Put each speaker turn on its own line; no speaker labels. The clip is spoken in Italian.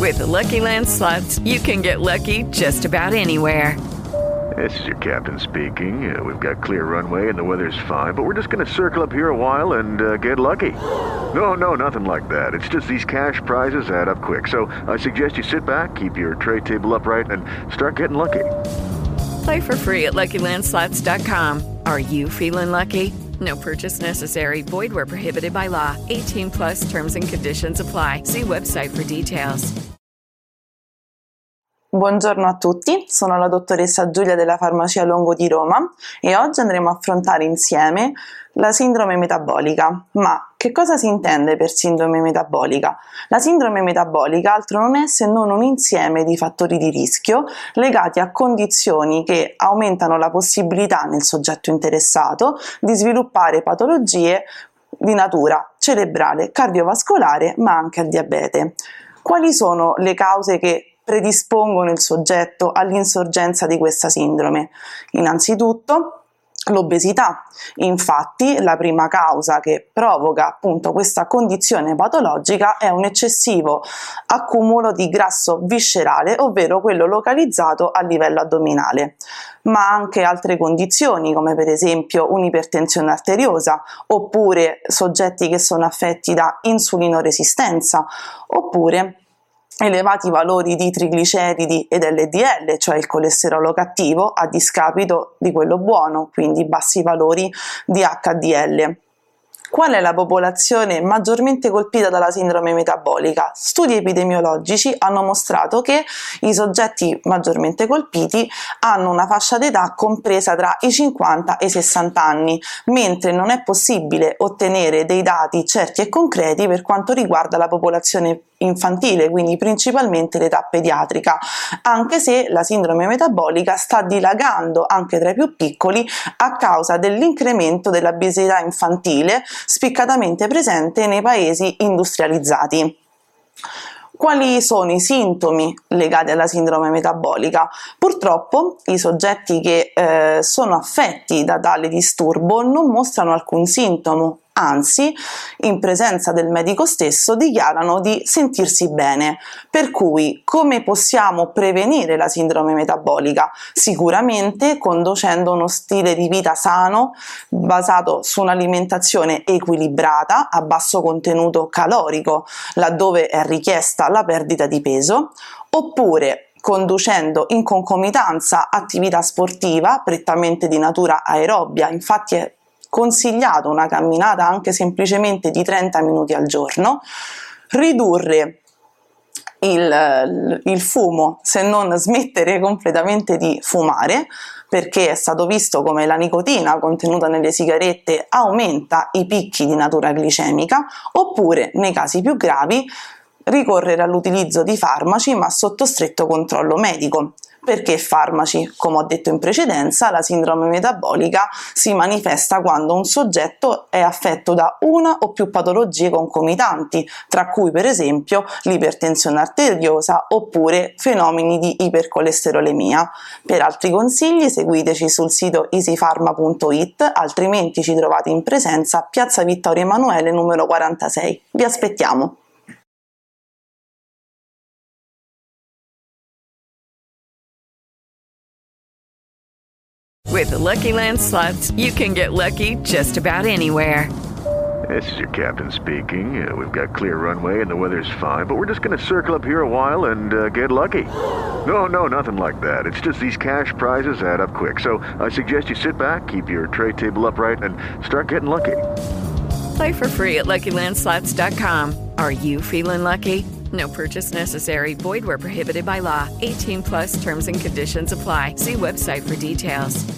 With the Lucky Land Slots, you can get lucky just about anywhere.
This is your captain speaking. We've got clear runway and the weather's fine, but we're just going to circle up here a while and get lucky. No, nothing like that. It's just these cash prizes add up quick. So I suggest you sit back, keep your tray table upright, and start getting lucky.
Play for free at LuckyLandSlots.com. Are you feeling lucky? No purchase necessary. Void where prohibited by law. 18 plus terms and conditions apply. See website for details.
Buongiorno a tutti, sono la dottoressa Giulia della Farmacia Longo di Roma e oggi andremo a affrontare insieme la sindrome metabolica. Ma che cosa si intende per sindrome metabolica? La sindrome metabolica altro non è se non un insieme di fattori di rischio legati a condizioni che aumentano la possibilità nel soggetto interessato di sviluppare patologie di natura cerebrale, cardiovascolare, ma anche al diabete. Quali sono le cause che predispongono il soggetto all'insorgenza di questa sindrome? Innanzitutto l'obesità. Infatti la prima causa che provoca appunto questa condizione patologica è un eccessivo accumulo di grasso viscerale, ovvero quello localizzato a livello addominale, ma anche altre condizioni come per esempio un'ipertensione arteriosa, oppure soggetti che sono affetti da insulinoresistenza, oppure elevati valori di trigliceridi ed LDL, cioè il colesterolo cattivo, a discapito di quello buono, quindi bassi valori di HDL. Qual è la popolazione maggiormente colpita dalla sindrome metabolica? Studi epidemiologici hanno mostrato che i soggetti maggiormente colpiti hanno una fascia d'età compresa tra i 50 e i 60 anni, mentre non è possibile ottenere dei dati certi e concreti per quanto riguarda la popolazione infantile, quindi principalmente l'età pediatrica, anche se la sindrome metabolica sta dilagando anche tra i più piccoli a causa dell'incremento dell'obesità infantile spiccatamente presente nei paesi industrializzati. Quali sono i sintomi legati alla sindrome metabolica? Purtroppo i soggetti che sono affetti da tale disturbo non mostrano alcun sintomo, anzi, in presenza del medico stesso dichiarano di sentirsi bene. Per cui, come possiamo prevenire la sindrome metabolica? Sicuramente conducendo uno stile di vita sano, basato su un'alimentazione equilibrata, a basso contenuto calorico, laddove è richiesta la perdita di peso, oppure conducendo in concomitanza attività sportiva prettamente di natura aerobia. Infatti è consigliato una camminata anche semplicemente di 30 minuti al giorno, ridurre il fumo, se non smettere completamente di fumare, perché è stato visto come la nicotina contenuta nelle sigarette aumenta i picchi di natura glicemica, oppure nei casi più gravi ricorrere all'utilizzo di farmaci ma sotto stretto controllo medico. Perché farmaci? Come ho detto in precedenza, la sindrome metabolica si manifesta quando un soggetto è affetto da una o più patologie concomitanti, tra cui per esempio l'ipertensione arteriosa oppure fenomeni di ipercolesterolemia. Per altri consigli seguiteci sul sito easypharma.it, altrimenti ci trovate in presenza a Piazza Vittorio Emanuele numero 46. Vi aspettiamo!
With the Lucky Land Slots, you can get lucky just about anywhere.
This is your captain speaking. We've got clear runway and the weather's fine, but we're just going to circle up here a while and get lucky. No, nothing like that. It's just these cash prizes add up quick. So I suggest you sit back, keep your tray table upright, and start getting lucky.
Play for free at LuckyLandSlots.com. Are you feeling lucky? No purchase necessary. Void where prohibited by law. 18 plus terms and conditions apply. See website for details.